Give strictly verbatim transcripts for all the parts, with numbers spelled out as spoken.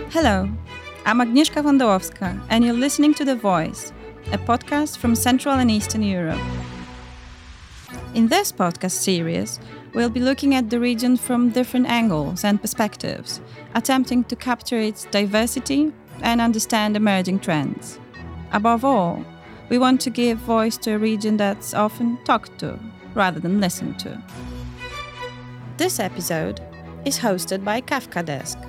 Hello, I'm Agnieszka Wondałowska, and you're listening to The Voice, a podcast from Central and Eastern Europe. In this podcast series, we'll be looking at the region from different angles and perspectives, attempting to capture its diversity and understand emerging trends. Above all, we want to give voice to a region that's often talked to rather than listened to. This episode is hosted by Kafka Desk.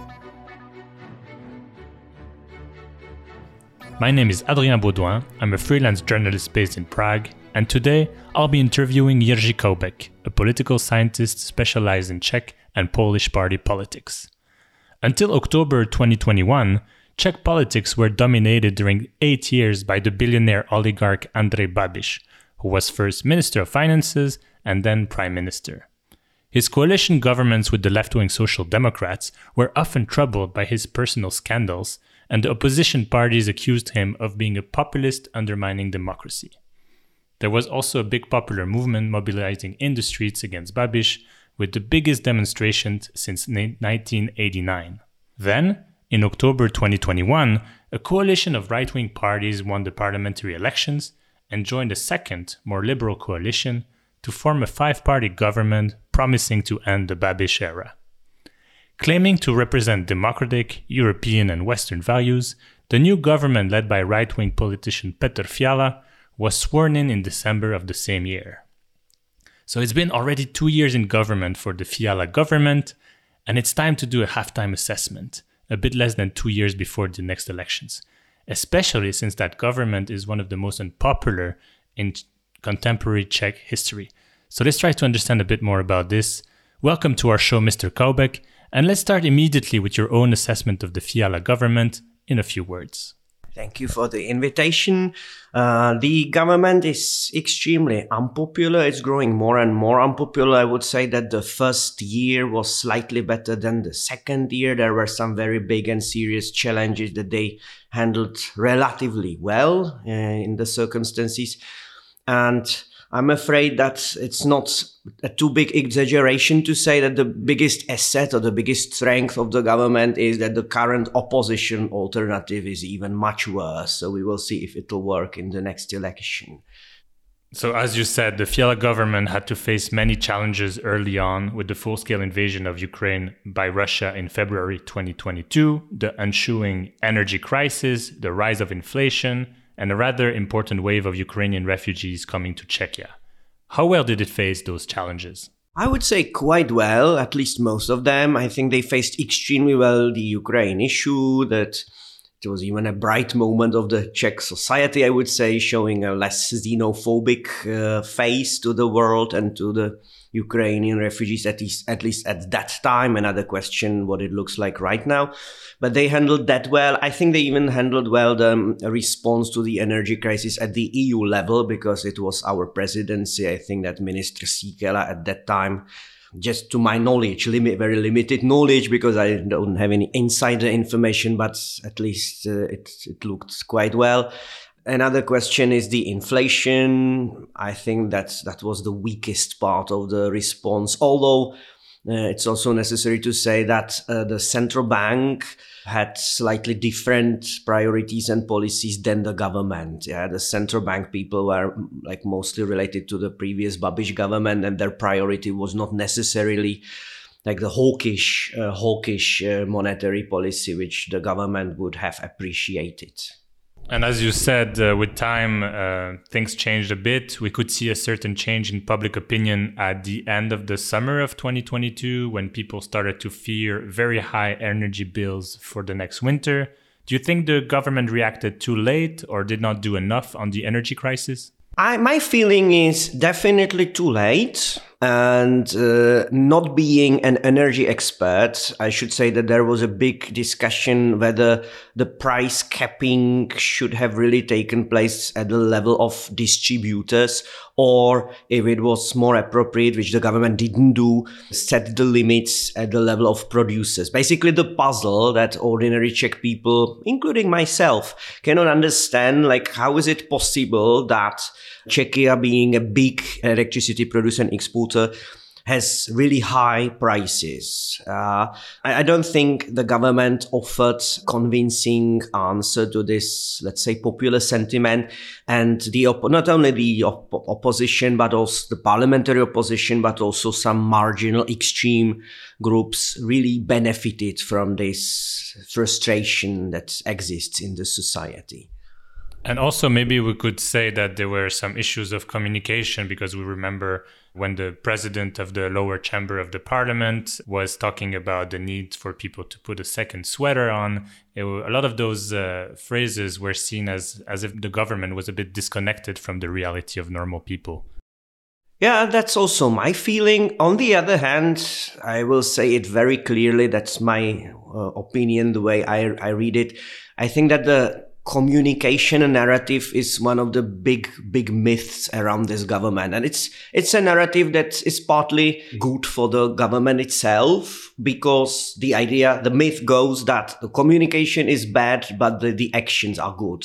My name is Adrien Baudouin. I'm a freelance journalist based in Prague, and today I'll be interviewing Jerzy Koubek, a political scientist specialized in Czech and Polish party politics. Until October twenty twenty-one, Czech politics were dominated during eight years by the billionaire oligarch Andrej Babiš, who was first Minister of Finances and then Prime Minister. His coalition governments with the left-wing Social Democrats were often troubled by his personal scandals, and the opposition parties accused him of being a populist undermining democracy. There was also a big popular movement mobilizing in the streets against Babiš, with the biggest demonstrations since nineteen eighty-nine. Then, in October twenty twenty-one, a coalition of right-wing parties won the parliamentary elections and joined a second, more liberal coalition to form a five-party government promising to end the Babiš era. Claiming to represent democratic, European and Western values, the new government led by right-wing politician Petr Fiala was sworn in in December of the same year. So it's been already two years in government for the Fiala government, and it's time to do a halftime assessment, a bit less than two years before the next elections, especially since that government is one of the most unpopular in contemporary Czech history. So let's try to understand a bit more about this. Welcome to our show, Mister Koubek. And let's start immediately with your own assessment of the Fiala government in a few words. Thank you for the invitation. Uh, the government is extremely unpopular. It's growing more and more unpopular. I would say that the first year was slightly better than the second year. There were some very big and serious challenges that they handled relatively well uh, in the circumstances. And I'm afraid that it's not a too big exaggeration to say that the biggest asset or the biggest strength of the government is that the current opposition alternative is even much worse. So we will see if it will work in the next election. So as you said, the Fiala government had to face many challenges early on with the full-scale invasion of Ukraine by Russia in February twenty twenty-two, the ensuing energy crisis, the rise of inflation, and a rather important wave of Ukrainian refugees coming to Czechia. How well did it face those challenges? I would say quite well, at least most of them. I think they faced extremely well the Ukraine issue, that it was even a bright moment of the Czech society, I would say, showing a less xenophobic uh, face to the world and to the Ukrainian refugees, at least, at least at that time. Another question, what it looks like right now. But they handled that well. I think they even handled well the um, response to the energy crisis at the E U level, because it was our presidency. I think that Minister Síkela at that time, just to my knowledge, limit, very limited knowledge, because I don't have any insider information, but at least uh, it, it looked quite well. Another question is the inflation. I think that that was the weakest part of the response, although uh, it's also necessary to say that uh, the central bank had slightly different priorities and policies than the government. Yeah, the central bank people were like mostly related to the previous Babiš government, and their priority was not necessarily like the hawkish, uh, hawkish uh, monetary policy, which the government would have appreciated. And as you said, uh, with time, uh, things changed a bit. We could see a certain change in public opinion at the end of the summer of twenty twenty-two, when people started to fear very high energy bills for the next winter. Do you think the government reacted too late or did not do enough on the energy crisis? I, my feeling is definitely too late. And uh, not being an energy expert, I should say that there was a big discussion whether the price capping should have really taken place at the level of distributors, or if it was more appropriate, which the government didn't do, set the limits at the level of producers. Basically the puzzle that ordinary Czech people, including myself, cannot understand, like how is it possible that Czechia, being a big electricity producer and exporter, has really high prices. Uh, I, I don't think the government offered convincing answer to this, let's say, popular sentiment. And the op- not only the op- opposition, but also the parliamentary opposition, but also some marginal extreme groups really benefited from this frustration that exists in the society. And also maybe we could say that there were some issues of communication, because we remember when the president of the lower chamber of the parliament was talking about the need for people to put a second sweater on. It, a lot of those uh, phrases were seen as, as if the government was a bit disconnected from the reality of normal people. Yeah, that's also my feeling. On the other hand, I will say it very clearly. That's my uh, opinion, the way I, I read it. I think that the communication narrative is one of the big, big myths around this government. And it's it's a narrative that is partly good for the government itself, because the idea, the myth goes that the communication is bad, but the, the actions are good.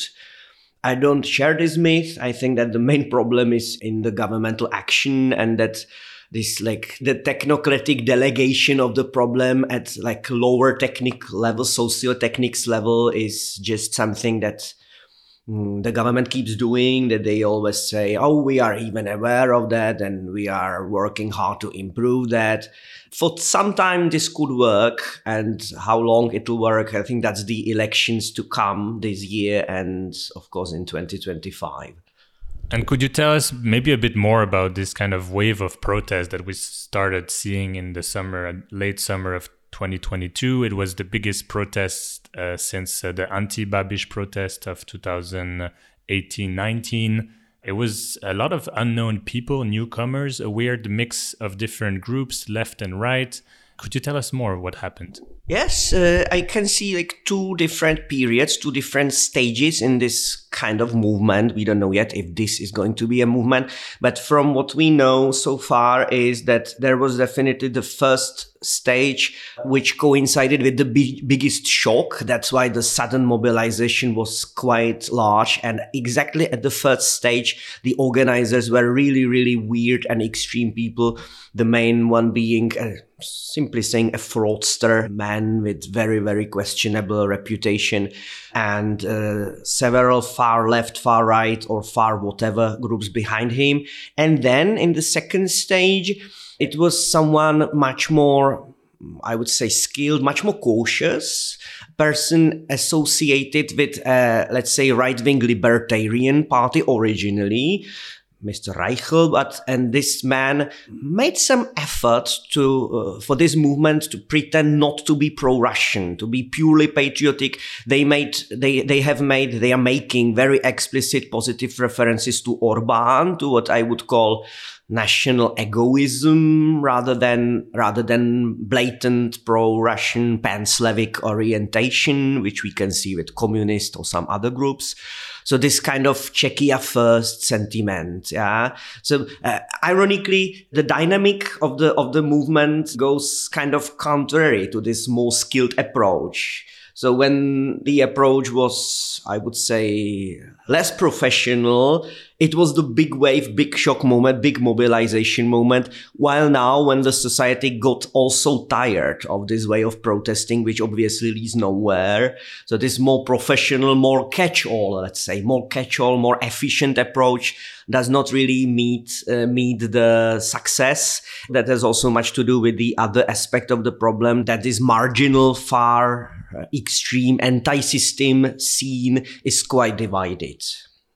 I don't share this myth. I think that the main problem is in the governmental action, and that this, like, the technocratic delegation of the problem at like lower technique level, socio-techniques level, is just something that mm, the government keeps doing, that they always say, oh, we are even aware of that and we are working hard to improve that. For some time this could work, and how long it will work, I think that's the elections to come this year and of course in twenty twenty-five. And could you tell us maybe a bit more about this kind of wave of protest that we started seeing in the summer, late summer of twenty twenty-two? It was the biggest protest uh, since uh, the anti-Babiš protest of two thousand eighteen nineteen. It was a lot of unknown people, newcomers, a weird mix of different groups, left and right. Could you tell us more what happened? Yes, uh, I can see like two different periods, two different stages in this kind of movement. We don't know yet if this is going to be a movement, but from what we know so far is that there was definitely the first stage, which coincided with the big, biggest shock. That's why the sudden mobilization was quite large. And exactly at the first stage, the organizers were really, really weird and extreme people. The main one being, uh, simply saying, a fraudster, man with very, very questionable reputation, and uh, several far left, far right, or far whatever groups behind him. And then in the second stage, it was someone much more, I would say, skilled, much more cautious, person associated with, uh, let's say, right-wing libertarian party originally, Mister Reichel, but and this man made some effort to uh, for this movement to pretend not to be pro-Russian, to be purely patriotic. They made they they have made they are making very explicit positive references to Orbán, to what I would call national egoism, rather than rather than blatant pro-Russian pan-Slavic orientation, which we can see with communist or some other groups. So this kind of Czechia first sentiment, yeah. So uh, ironically, the dynamic of the of the movement goes kind of contrary to this more skilled approach. So when the approach was, I would say, less professional, it was the big wave, big shock moment, big mobilization moment. While now, when the society got also tired of this way of protesting, which obviously leads nowhere, so this more professional, more catch-all, let's say, more catch-all, more efficient approach does not really meet uh, meet the success. That has also much to do with the other aspect of the problem, that this marginal, far uh, extreme anti-system scene is quite divided.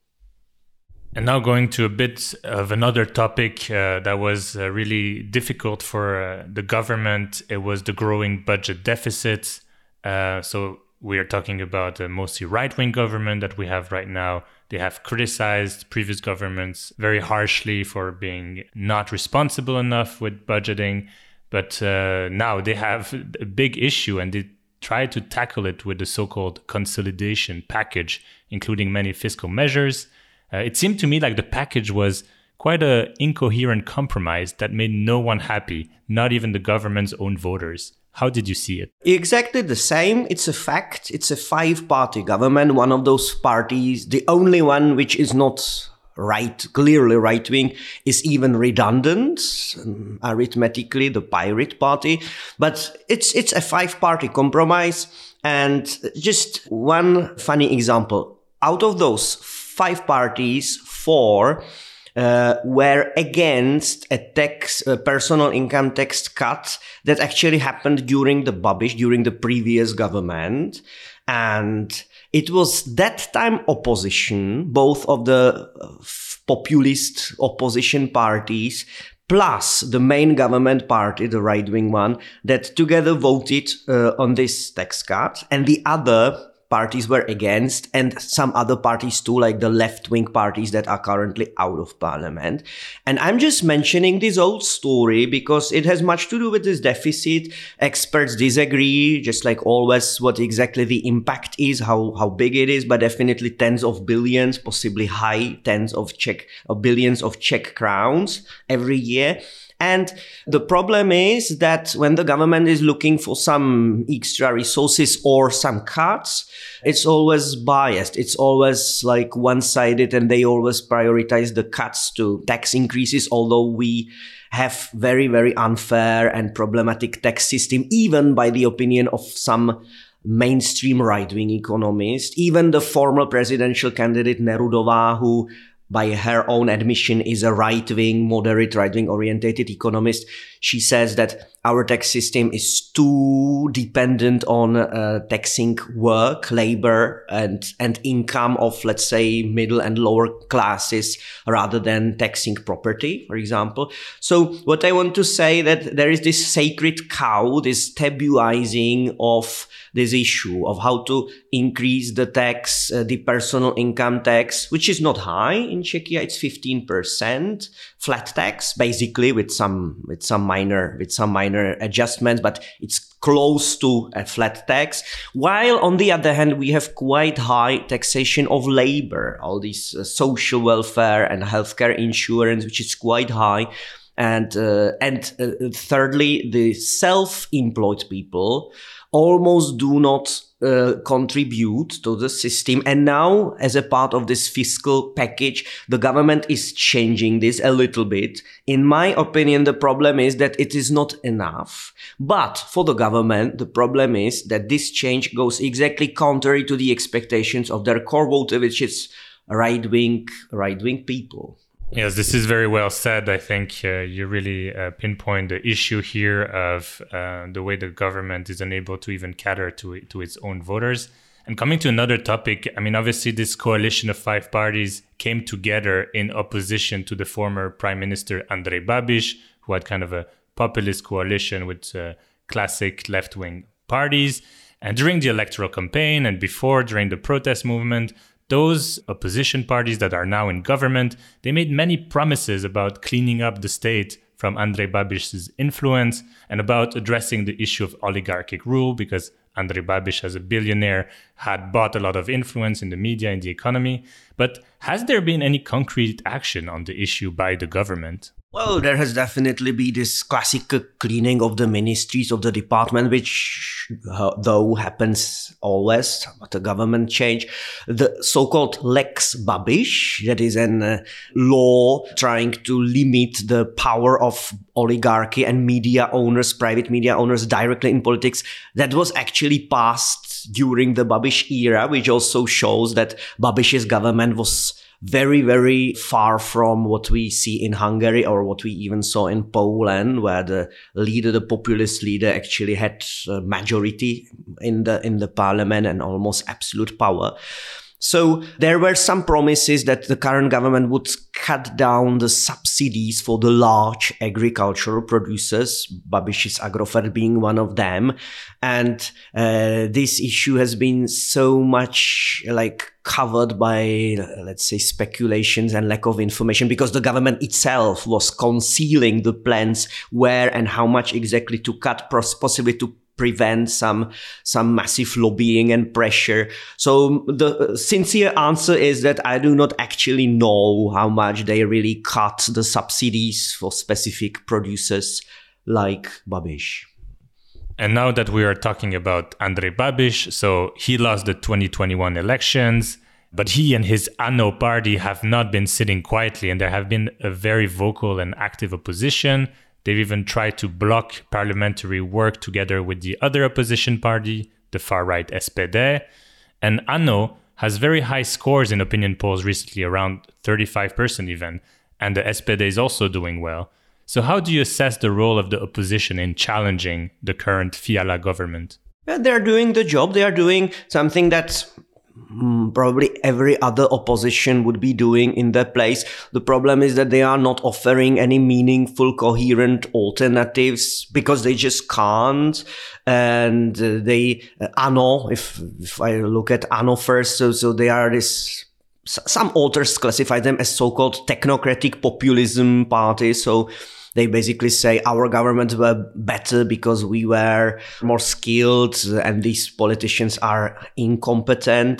And now going to a bit of another topic uh, that was uh, really difficult for uh, the government. It was the growing budget deficit. Uh, so we are talking about a mostly right-wing government that we have right now. They have criticized previous governments very harshly for being not responsible enough with budgeting. But uh, now they have a big issue, and they try to tackle it with the so-called consolidation package, including many fiscal measures. Uh, it seemed to me like the package was quite an incoherent compromise that made no one happy, not even the government's own voters. How did you see it? Exactly the same. It's a fact. It's a five-party government, one of those parties, the only one which is not right, clearly right wing, is even redundant um, arithmetically, the Pirate Party. But it's it's a five-party compromise. And just one funny example: out of those five parties, four uh, were against a tax, a personal income tax cut that actually happened during the Babiš, during the previous government. And it was that time opposition, both of the populist opposition parties, plus the main government party, the right-wing one, that together voted uh, on this tax cut. And the other parties were against, and some other parties too, like the left-wing parties that are currently out of parliament. And I'm just mentioning this old story because it has much to do with this deficit. Experts disagree, just like always, what exactly the impact is, how, how big it is, but definitely tens of billions, possibly high tens of Czech, of billions of Czech crowns every year. And the problem is that when the government is looking for some extra resources or some cuts, it's always biased. It's always like one-sided, and they always prioritize the cuts to tax increases, although we have very, very unfair and problematic tax system, even by the opinion of some mainstream right-wing economists. Even the former presidential candidate Nerudová, who by her own admission is a right-wing, moderate right-wing orientated economist, she says that our tax system is too dependent on uh, taxing work, labor, and, and income of, let's say, middle and lower classes rather than taxing property, for example. So what I want to say that there is this sacred cow, this tabuizing of this issue of how to increase the tax, uh, the personal income tax, which is not high in Czechia. It's fifteen percent flat tax, basically, with some with some minor with some minor adjustments, but it's close to a flat tax. While on the other hand, we have quite high taxation of labor, all these uh, social welfare and healthcare insurance, which is quite high. And uh, and uh, thirdly, the self-employed people almost do not uh, contribute to the system. And now, as a part of this fiscal package, the government is changing this a little bit. In my opinion, the problem is that it is not enough. But for the government, the problem is that this change goes exactly contrary to the expectations of their core voter, which is right-wing, right-wing people. Yes, this is very well said. I think uh, you really uh, pinpoint the issue here of uh, the way the government is unable to even cater to to its own voters. And coming to another topic, I mean, obviously this coalition of five parties came together in opposition to the former Prime Minister Andrej Babiš, who had kind of a populist coalition with uh, classic left-wing parties. And during the electoral campaign and before, during the protest movement, those opposition parties that are now in government, they made many promises about cleaning up the state from Andrej Babiš's influence and about addressing the issue of oligarchic rule, because Andrej Babiš, as a billionaire, had bought a lot of influence in the media, in the economy. But has there been any concrete action on the issue by the government? Well, there has definitely been this classical cleaning of the ministries, of the department, which uh, though happens always at a government change. The so-called Lex Babiš, that is a uh, law trying to limit the power of oligarchy and media owners, private media owners directly in politics, that was actually passed during the Babiš era, which also shows that Babiš's government was very, very far from what we see in Hungary or what we even saw in Poland, where the leader, the populist leader, actually had a majority in the in the parliament and almost absolute power. So there were some promises that the current government would cut down the subsidies for the large agricultural producers, Babiš's Agrofert being one of them. And uh, this issue has been so much like covered by, let's say, speculations and lack of information, because the government itself was concealing the plans where and how much exactly to cut, possibly to prevent some some massive lobbying and pressure. So the sincere answer is that I do not actually know how much they really cut the subsidies for specific producers like Babiš. And now that we are talking about Andrej Babiš, so he lost the twenty twenty-one elections. But he and his ANO party have not been sitting quietly, and there have been a very vocal and active opposition. They've even tried to block parliamentary work together with the other opposition party, the far-right S P D. And ANO has very high scores in opinion polls recently, around thirty-five percent even. And the S P D is also doing well. So how do you assess the role of the opposition in challenging the current Fiala government? Well, they're doing the job. They are doing something that mm, probably every other opposition would be doing in their place. The problem is that they are not offering any meaningful, coherent alternatives because they just can't. And uh, they, uh, ANO, if, if I look at ANO first, so, so they are this... Some authors classify them as so-called technocratic populism parties. So they basically say our governments were better because we were more skilled and these politicians are incompetent.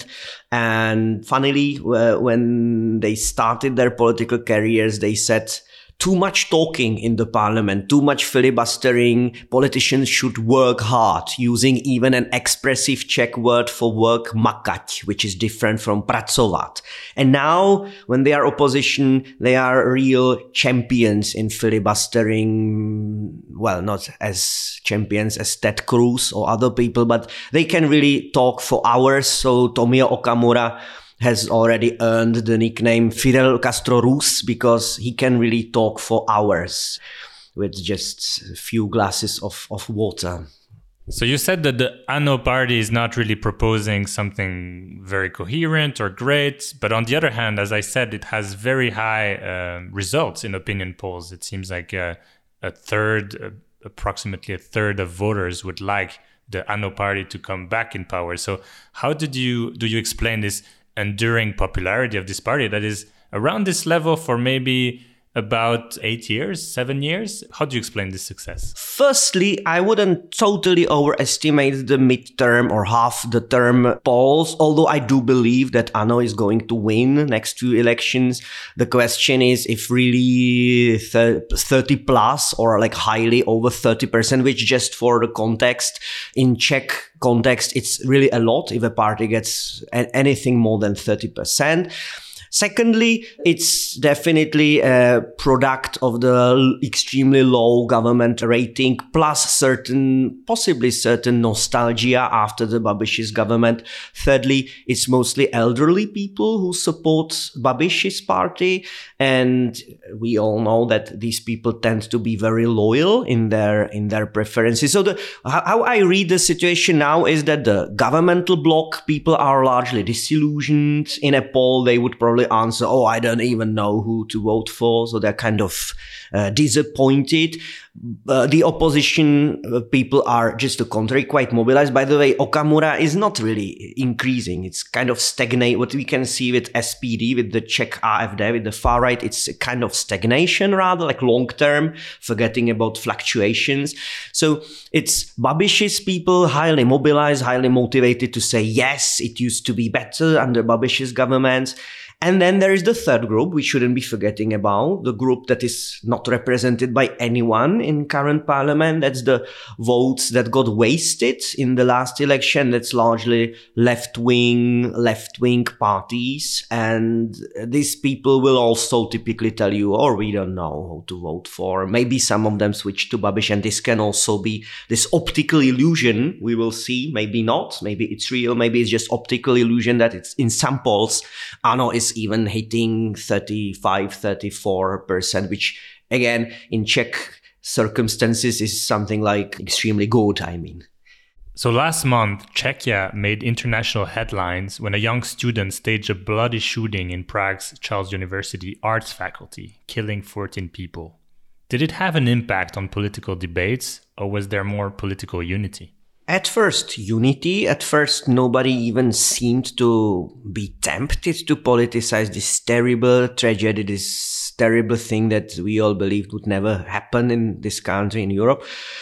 And funnily, uh, when they started their political careers, they said, too much talking in the parliament, too much filibustering. Politicians should work hard, using even an expressive Czech word for work, makať, which is different from pracovat. And now, when they are opposition, they are real champions in filibustering. Well, not as champions as Ted Cruz or other people, but they can really talk for hours. So Tomio Okamura has already earned the nickname Fidel Castro Rus because he can really talk for hours with just a few glasses of, of water. So you said that the ANO party is not really proposing something very coherent or great, but on the other hand, as I said, it has very high uh, results in opinion polls. It seems like a, a third, uh, approximately a third of voters would like the ANO party to come back in power. So how did you do you explain this enduring popularity of this party that is around this level for maybe about eight years, seven years? How do you explain this success? Firstly, I wouldn't totally overestimate the midterm or half the term polls, although I do believe that ANO is going to win next two elections. The question is if really thirty plus or like highly over thirty percent, which just for the context, in Czech context, it's really a lot if a party gets anything more than thirty percent. Secondly, it's definitely a product of the extremely low government rating plus certain, possibly certain nostalgia after the Babiš's government. Thirdly, it's mostly elderly people who support Babiš's party. And we all know that these people tend to be very loyal in their, in their preferences. So the, how I read the situation now is that the governmental bloc people are largely disillusioned. In a poll, they would probably answer, oh, I don't even know who to vote for. So they're kind of uh, disappointed. Uh, the opposition uh, people are just the contrary, quite mobilized. By the way, Okamura is not really increasing. It's kind of stagnate. What we can see with S P D, with the Czech A F D, with the far right, it's a kind of stagnation rather, like long term, forgetting about fluctuations. So it's Babiš's people highly mobilized, highly motivated to say, yes, it used to be better under Babiš's government. And then there is the third group we shouldn't be forgetting about, the group that is not represented by anyone in current parliament. That's the votes that got wasted in the last election. That's largely left-wing, left-wing parties. And these people will also typically tell you, oh, we don't know who to vote for. Maybe some of them switch to Babiš, and this can also be this optical illusion. We will see, maybe not. Maybe it's real. Maybe it's just optical illusion that it's in some polls, ANO is even hitting thirty-five, thirty-four percent, which again, in Czech circumstances is something like extremely good, I mean. So last month, Czechia made international headlines when a young student staged a bloody shooting in Prague's Charles University arts faculty, killing fourteen people. Did it have an impact on political debates, or was there more political unity? At first, unity. At first, nobody even seemed to be tempted to politicize this terrible tragedy, this terrible thing that we all believed would never happen in this country, in Europe.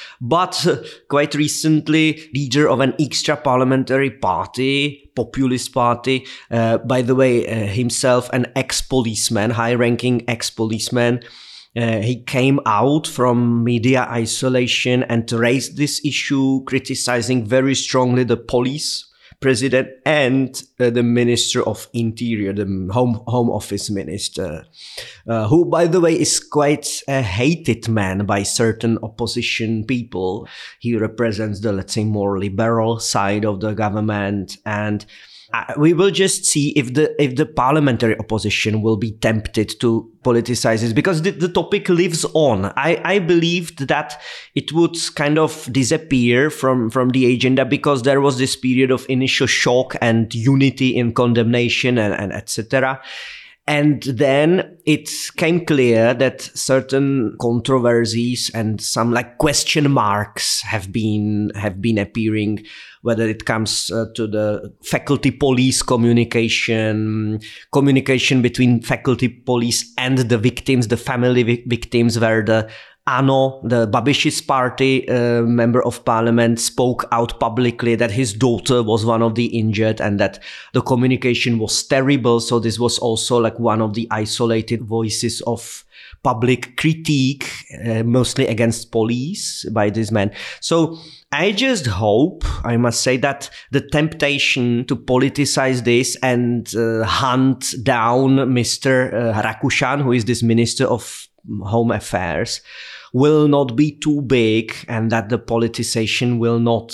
But uh, quite recently, leader of an extra-parliamentary party, populist party, uh, by the way, uh, himself an ex-policeman, high-ranking ex-policeman, Uh, he came out from media isolation and raised this issue, criticizing very strongly the police president and uh, the Minister of Interior, the Home Home Office Minister, uh, who, by the way, is quite a hated man by certain opposition people. He represents the, let's say, more liberal side of the government, and Uh, we will just see if the if the parliamentary opposition will be tempted to politicize this, because the, the topic lives on. I, I believed that it would kind of disappear from, from the agenda because there was this period of initial shock and unity in condemnation and, and et cetera. And then it came clear that certain controversies and some like question marks have been have been appearing, whether it comes uh, to the faculty police communication, communication between faculty police and the victims, the family vi- victims, where the Ano, the Babish's party uh, member of parliament, spoke out publicly that his daughter was one of the injured and that the communication was terrible. So this was also like one of the isolated voices of public critique, uh, mostly against police by this man. So I just hope, I must say, that the temptation to politicize this and uh, hunt down Mister Uh, Rakušan, who is this Minister of Home Affairs, will not be too big, and that the politicization will not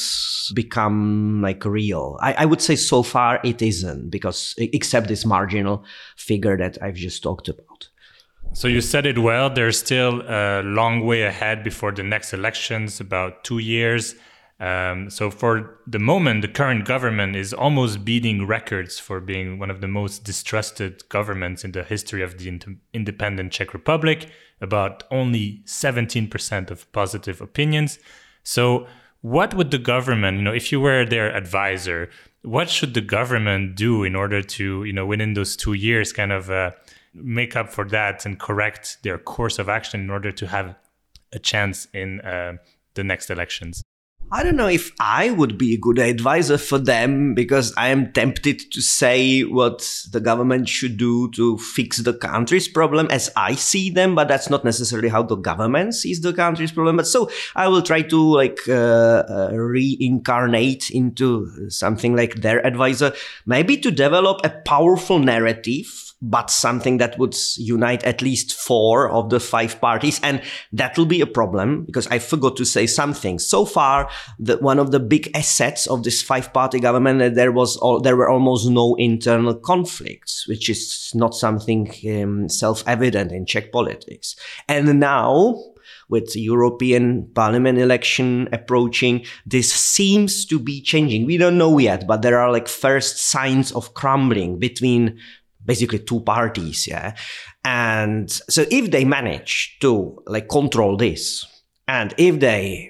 become like real. I, I would say so far it isn't, because except this marginal figure that I've just talked about. So you said it well, there's still a long way ahead before the next elections, about two years. Um, so for the moment, the current government is almost beating records for being one of the most distrusted governments in the history of the in- independent Czech Republic, about only seventeen percent of positive opinions. So what would the government, you know, if you were their advisor, what should the government do in order to, you know, within those two years kind of uh, make up for that and correct their course of action in order to have a chance in uh, the next elections? I don't know if I would be a good advisor for them, because I am tempted to say what the government should do to fix the country's problem as I see them, but that's not necessarily how the government sees the country's problem. But so I will try to like uh, uh, reincarnate into something like their advisor, maybe to develop a powerful narrative, but something that would unite at least four of the five parties. And that will be a problem, because I forgot to say something. So far, the, one of the big assets of this five-party government, that there was all, there were almost no internal conflicts, which is not something um, self-evident in Czech politics. And now, with the European Parliament election approaching, this seems to be changing. We don't know yet, but there are like first signs of crumbling between basically two parties, yeah. And so if they manage to like control this, and if they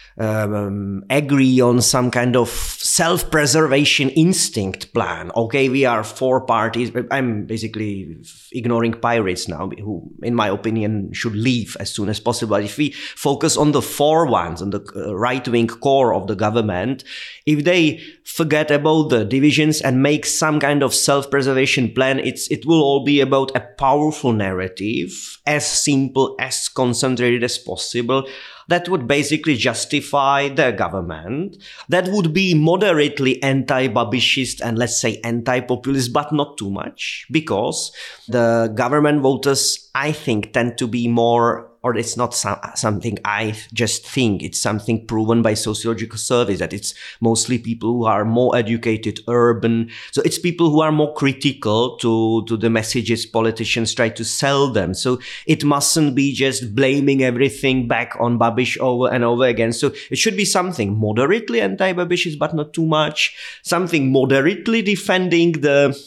um, agree on some kind of self-preservation instinct plan, okay, we are four parties. I'm basically ignoring pirates now, who, in my opinion, should leave as soon as possible. If we focus on the four ones, on the right-wing core of the government, if they forget about the divisions and make some kind of self-preservation plan, it's it will all be about a powerful narrative, as simple, as concentrated as possible, that would basically justify the government, that would be moderately anti-Babishist and, let's say, anti-populist, but not too much, because the government voters, I think, tend to be more, or it's not some, something I just think, it's something proven by sociological surveys, that it's mostly people who are more educated, urban. So it's people who are more critical to, to the messages politicians try to sell them. So it mustn't be just blaming everything back on Babiš over and over again. So it should be something moderately anti-Babishist, but not too much. Something moderately defending the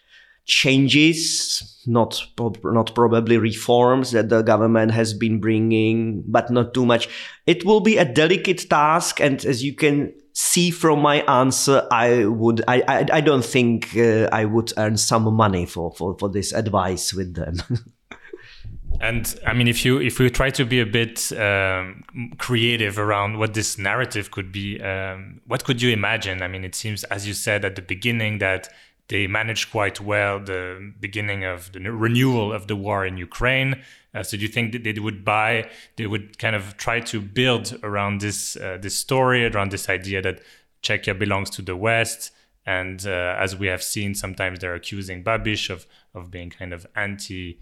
changes, not not probably reforms that the government has been bringing, but not too much. It will be a delicate task, and as you can see from my answer, I would I I, I don't think uh, I would earn some money for, for, for this advice with them. And I mean, if you if we try to be a bit um, creative around what this narrative could be, um, what could you imagine? I mean, it seems, as you said at the beginning, that they managed quite well the beginning of the renewal of the war in Ukraine. Uh, so do you think that they would buy, they would kind of try to build around this uh, this story, around this idea that Czechia belongs to the West, And uh, as we have seen, sometimes they're accusing Babiš of, of being kind of anti-E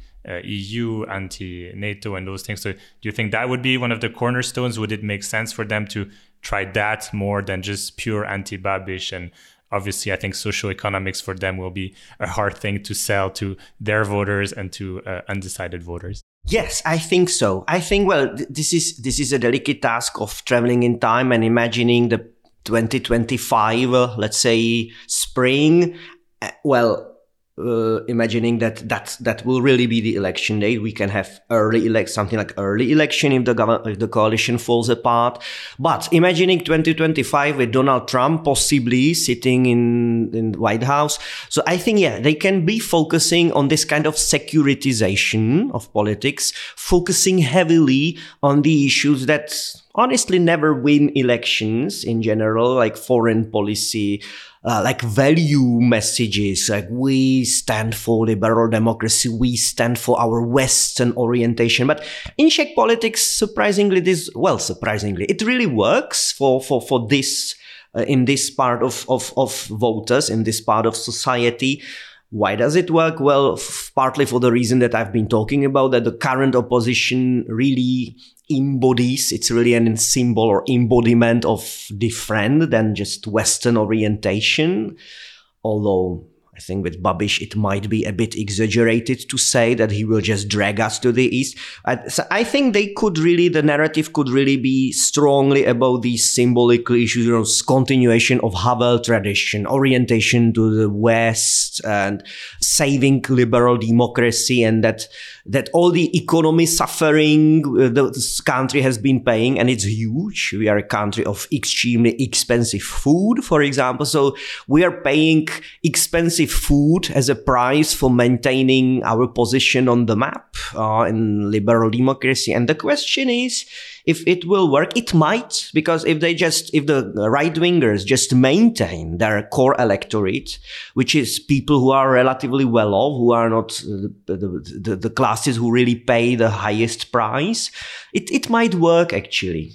U, anti-NATO and those things. So do you think that would be one of the cornerstones? Would it make sense for them to try that more than just pure anti-Babiš? And obviously, I think socioeconomics for them will be a hard thing to sell to their voters and to uh, undecided voters. Yes, I think so. I think, well, th- this is this is a delicate task of traveling in time and imagining the twenty twenty-five, uh, let's say, spring. Uh, well, uh, imagining that, that that will really be the election date. We can have early elect something like early election if the gov- if the coalition falls apart. But imagining twenty twenty-five with Donald Trump possibly sitting in in the White House. So I think, yeah, they can be focusing on this kind of securitization of politics, focusing heavily on the issues that honestly never win elections in general, like foreign policy, uh, like value messages, like we stand for liberal democracy, we stand for our Western orientation. But in Czech politics, surprisingly, this, well, surprisingly, it really works for, for, for this, uh, in this part of, of, of voters, in this part of society. Why does it work? Well, f- partly for the reason that I've been talking about, that the current opposition really embodies, it's really a symbol or embodiment of different than just Western orientation. Although I think with Babiš, it might be a bit exaggerated to say that he will just drag us to the east. I, so I think they could really, the narrative could really be strongly about these symbolic issues, you know, continuation of Havel tradition, orientation to the West, and saving liberal democracy, and that that all the economy suffering uh, the, this country has been paying, and it's huge. We are a country of extremely expensive food, for example. So we are paying expensive food as a price for maintaining our position on the map uh, in liberal democracy. And the question is, if it will work. It might, because if they just, if the right-wingers just maintain their core electorate, which is people who are relatively well off, who are not uh, the, the, the classes who really pay the highest price, it, it might work actually.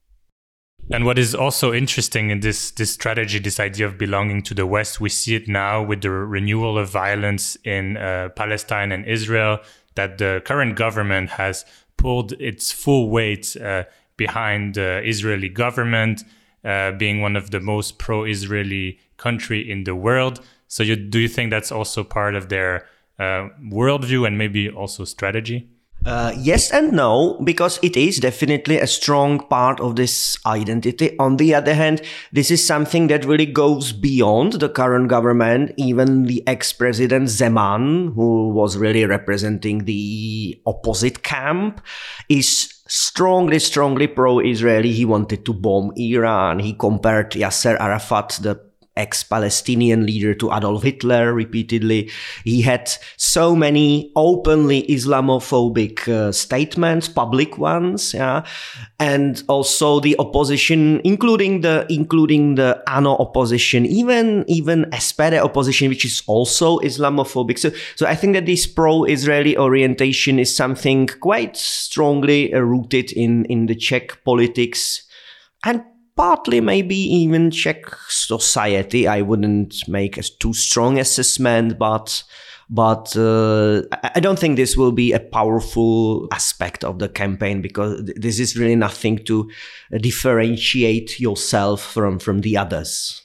And what is also interesting in this this strategy, this idea of belonging to the West, we see it now with the renewal of violence in uh, Palestine and Israel, that the current government has pulled its full weight uh, behind the Israeli government, uh, being one of the most pro-Israeli country in the world. So you, do you think that's also part of their uh, worldview and maybe also strategy? Uh, yes and no, because it is definitely a strong part of this identity. On the other hand, this is something that really goes beyond the current government. Even the ex-president Zeman, who was really representing the opposite camp, is strongly, strongly pro-Israeli. He wanted to bomb Iran. He compared Yasser Arafat, the ex-Palestinian leader, to Adolf Hitler repeatedly. He had so many openly Islamophobic uh, statements, public ones, yeah, and also the opposition, including the including the A N O opposition, even even S P D opposition, which is also Islamophobic. So, so I think that this pro-Israeli orientation is something quite strongly uh, rooted in in the Czech politics, and partly maybe even Czech society. I wouldn't make a too strong assessment, but but uh, I don't think this will be a powerful aspect of the campaign, because this is really nothing to differentiate yourself from, from the others.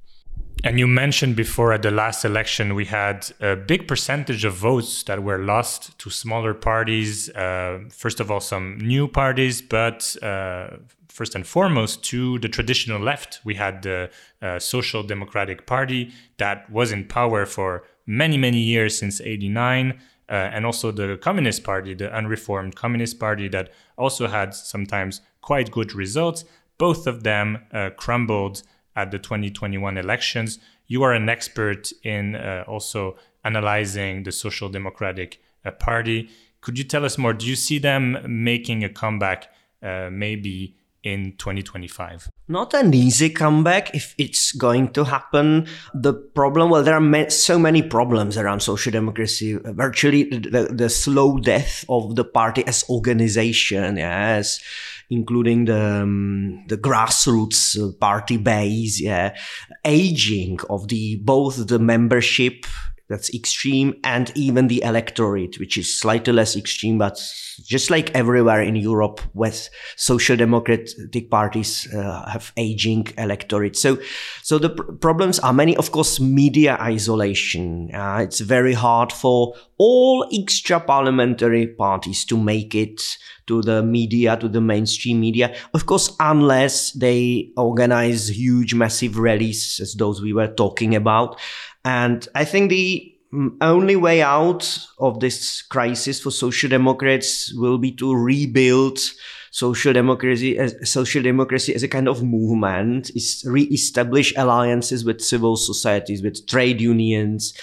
And you mentioned before, at the last election, we had a big percentage of votes that were lost to smaller parties. Uh, first of all, some new parties, but uh, first and foremost, to the traditional left. We had the uh, Social Democratic Party that was in power for many, many years, since eighty-nine, uh, and also the Communist Party, the unreformed Communist Party, that also had sometimes quite good results. Both of them uh, crumbled at the twenty twenty-one elections. You are an expert in uh, also analyzing the Social Democratic uh, Party. Could you tell us more? Do you see them making a comeback uh, maybe in twenty twenty-five? Not an easy comeback if it's going to happen. The problem, well, there are ma- so many problems around social democracy. Virtually the, the slow death of the party as organization, as including the um, the grassroots party base, yeah, aging of the both the membership that's extreme and even the electorate, which is slightly less extreme, but just like everywhere in Europe, with social democratic parties uh, have aging electorate. So, so the pr- problems are many. Of course, media isolation. Uh, it's very hard for all extra parliamentary parties to make it to the media, to the mainstream media. Of course, unless they organize huge, massive rallies, as those we were talking about. And I think the only way out of this crisis for social democrats will be to rebuild social democracy as social democracy as a kind of movement, is re-establish alliances with civil societies, with trade unions,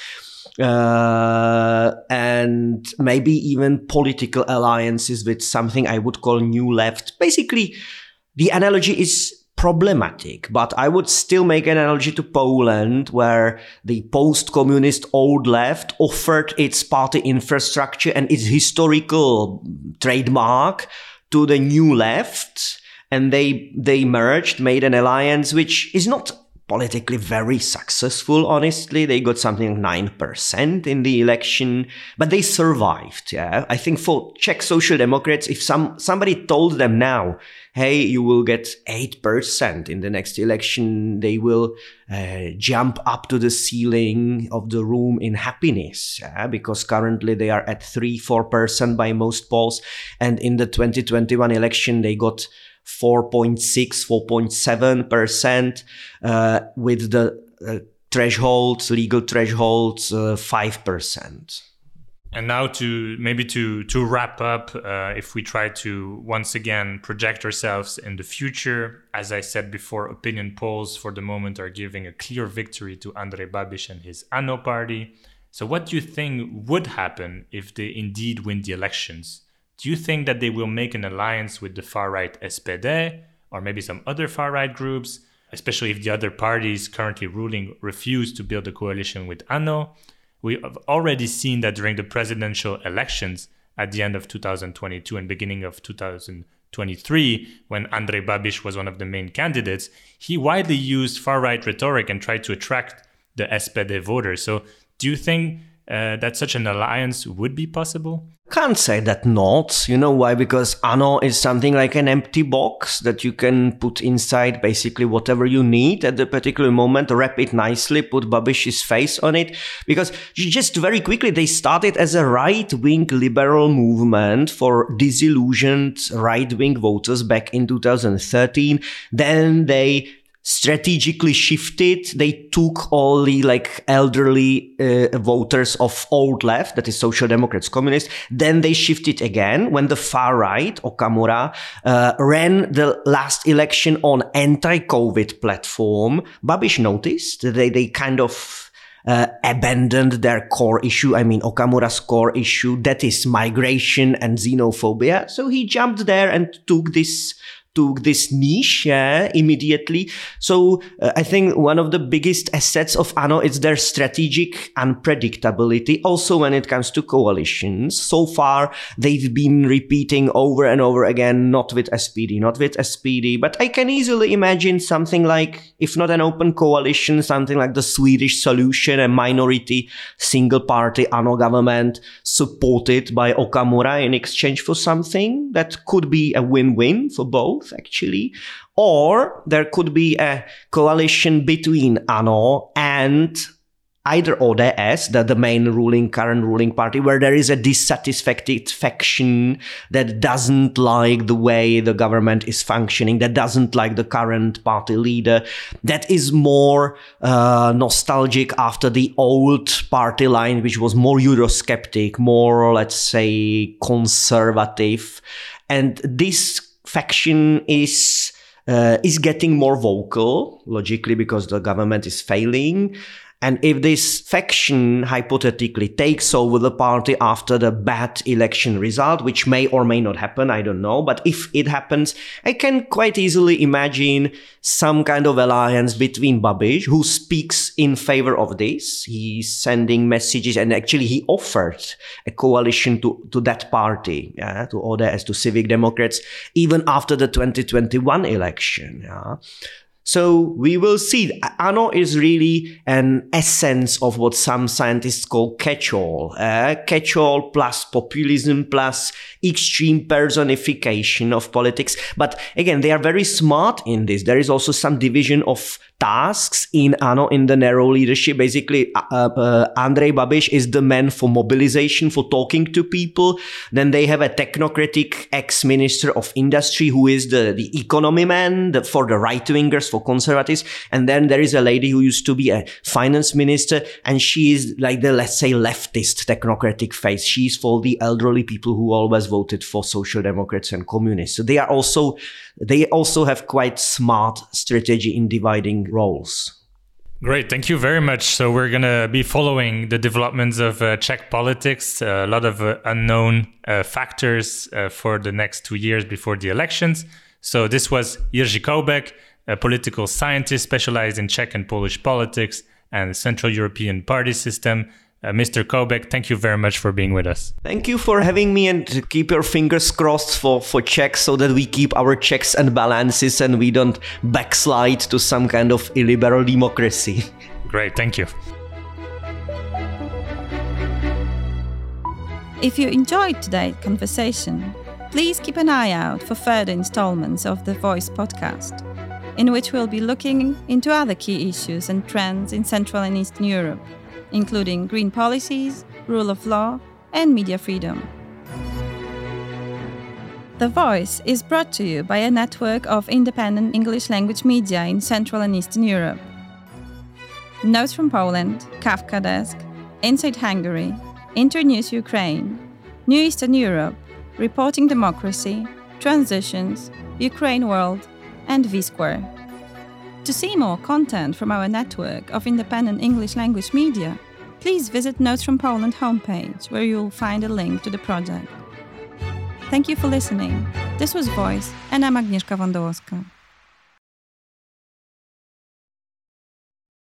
uh, and maybe even political alliances with something I would call new left. Basically, the analogy is problematic, but I would still make an analogy to Poland, where the post-communist old left offered its party infrastructure and its historical trademark to the new left, and they they merged, made an alliance, which is not politically very successful, honestly. They got something like nine percent in the election, but they survived, yeah. I think for Czech Social Democrats, if some somebody told them now, hey, you will get eight percent in the next election, they will uh, jump up to the ceiling of the room in happiness, yeah? Because currently they are at three, four percent by most polls. And in the twenty twenty-one election, they got four point six, four point seven percent, uh, with the uh, thresholds, legal thresholds, uh, five percent. And now to maybe to to wrap up, uh, if we try to once again project ourselves in the future, as I said before, opinion polls for the moment are giving a clear victory to Andrej Babiš and his ANO party. So what do you think would happen if they indeed win the elections? Do you think that they will make an alliance with the far-right S P D or maybe some other far-right groups, especially if the other parties currently ruling refuse to build a coalition with ANO? We have already seen that during the presidential elections at the end of two thousand twenty-two and beginning of two thousand twenty-three, when Andrej Babiš was one of the main candidates, he widely used far-right rhetoric and tried to attract the S P D voters. So do you think uh, that such an alliance would be possible? Can't say that not. You know why? Because ANO is something like an empty box that you can put inside basically whatever you need at the particular moment, wrap it nicely, put Babiš's face on it. Because just very quickly, they started as a right-wing liberal movement for disillusioned right-wing voters back in two thousand thirteen. Then they strategically shifted. They took all the like elderly uh, voters of old left, that is Social Democrats, Communists. Then they shifted again when the far right, Okamura, uh, ran the last election on anti-COVID platform. Babiš noticed that they, they kind of uh, abandoned their core issue. I mean, Okamura's core issue, that is migration and xenophobia. So he jumped there and took this took this niche uh, immediately. So uh, I think one of the biggest assets of ANO is their strategic unpredictability. Also when it comes to coalitions, so far they've been repeating over and over again, not with S P D, not with S P D, but I can easily imagine something like, if not an open coalition, something like the Swedish solution, a minority single party ANO government supported by Okamura in exchange for something that could be a win-win for both, actually. Or there could be a coalition between ANO and either O D S, the, the main ruling, current ruling party, where there is a dissatisfied faction that doesn't like the way the government is functioning, that doesn't like the current party leader, that is more uh, nostalgic after the old party line, which was more Eurosceptic, more, let's say, conservative. And this faction is uh, is getting more vocal, logically, because the government is failing. And if this faction hypothetically takes over the party after the bad election result, which may or may not happen, I don't know, but if it happens, I can quite easily imagine some kind of alliance between Babiš, who speaks in favor of this. He's sending messages, and actually he offered a coalition to, to that party, yeah, to O D S, to Civic Democrats, even after the twenty twenty-one election. Yeah. So we will see. ANO is really an essence of what some scientists call catch-all. Uh, catch-all plus populism plus extreme personification of politics. But again, they are very smart in this. There is also some division of tasks in ANO, in the narrow leadership. Basically, uh, uh, Andrej Babiš is the man for mobilization, for talking to people. Then they have a technocratic ex-minister of industry who is the, the economy man the, for the right-wingers, for conservatives. And then there is a lady who used to be a finance minister, and she is like the, let's say, leftist technocratic face. She's for the elderly people who always voted for social democrats and communists. So they are also, they also have quite smart strategy in dividing roles. Great, thank you very much. So we're going to be following the developments of uh, Czech politics, uh, a lot of uh, unknown uh, factors uh, for the next two years before the elections. So this was Jiří Koubek, a political scientist specialized in Czech and Polish politics and the Central European party system. Uh, Mister Koubek, thank you very much for being with us. Thank you for having me, and keep your fingers crossed for, for Czech, so that we keep our checks and balances and we don't backslide to some kind of illiberal democracy. Great, thank you. If you enjoyed today's conversation, please keep an eye out for further installments of the Voice podcast, in which we'll be looking into other key issues and trends in Central and Eastern Europe, including green policies, rule of law, and media freedom. The Voice is brought to you by a network of independent English language media in Central and Eastern Europe. Notes from Poland, Kafka Desk, Inside Hungary, Internews Ukraine, New Eastern Europe, Reporting Democracy, Transitions, Ukraine World, and V-Square. To see more content from our network of independent English language media, please visit Notes from Poland homepage, where you'll find a link to the project. Thank you for listening. This was Voice, and I'm Agnieszka Wądołowska.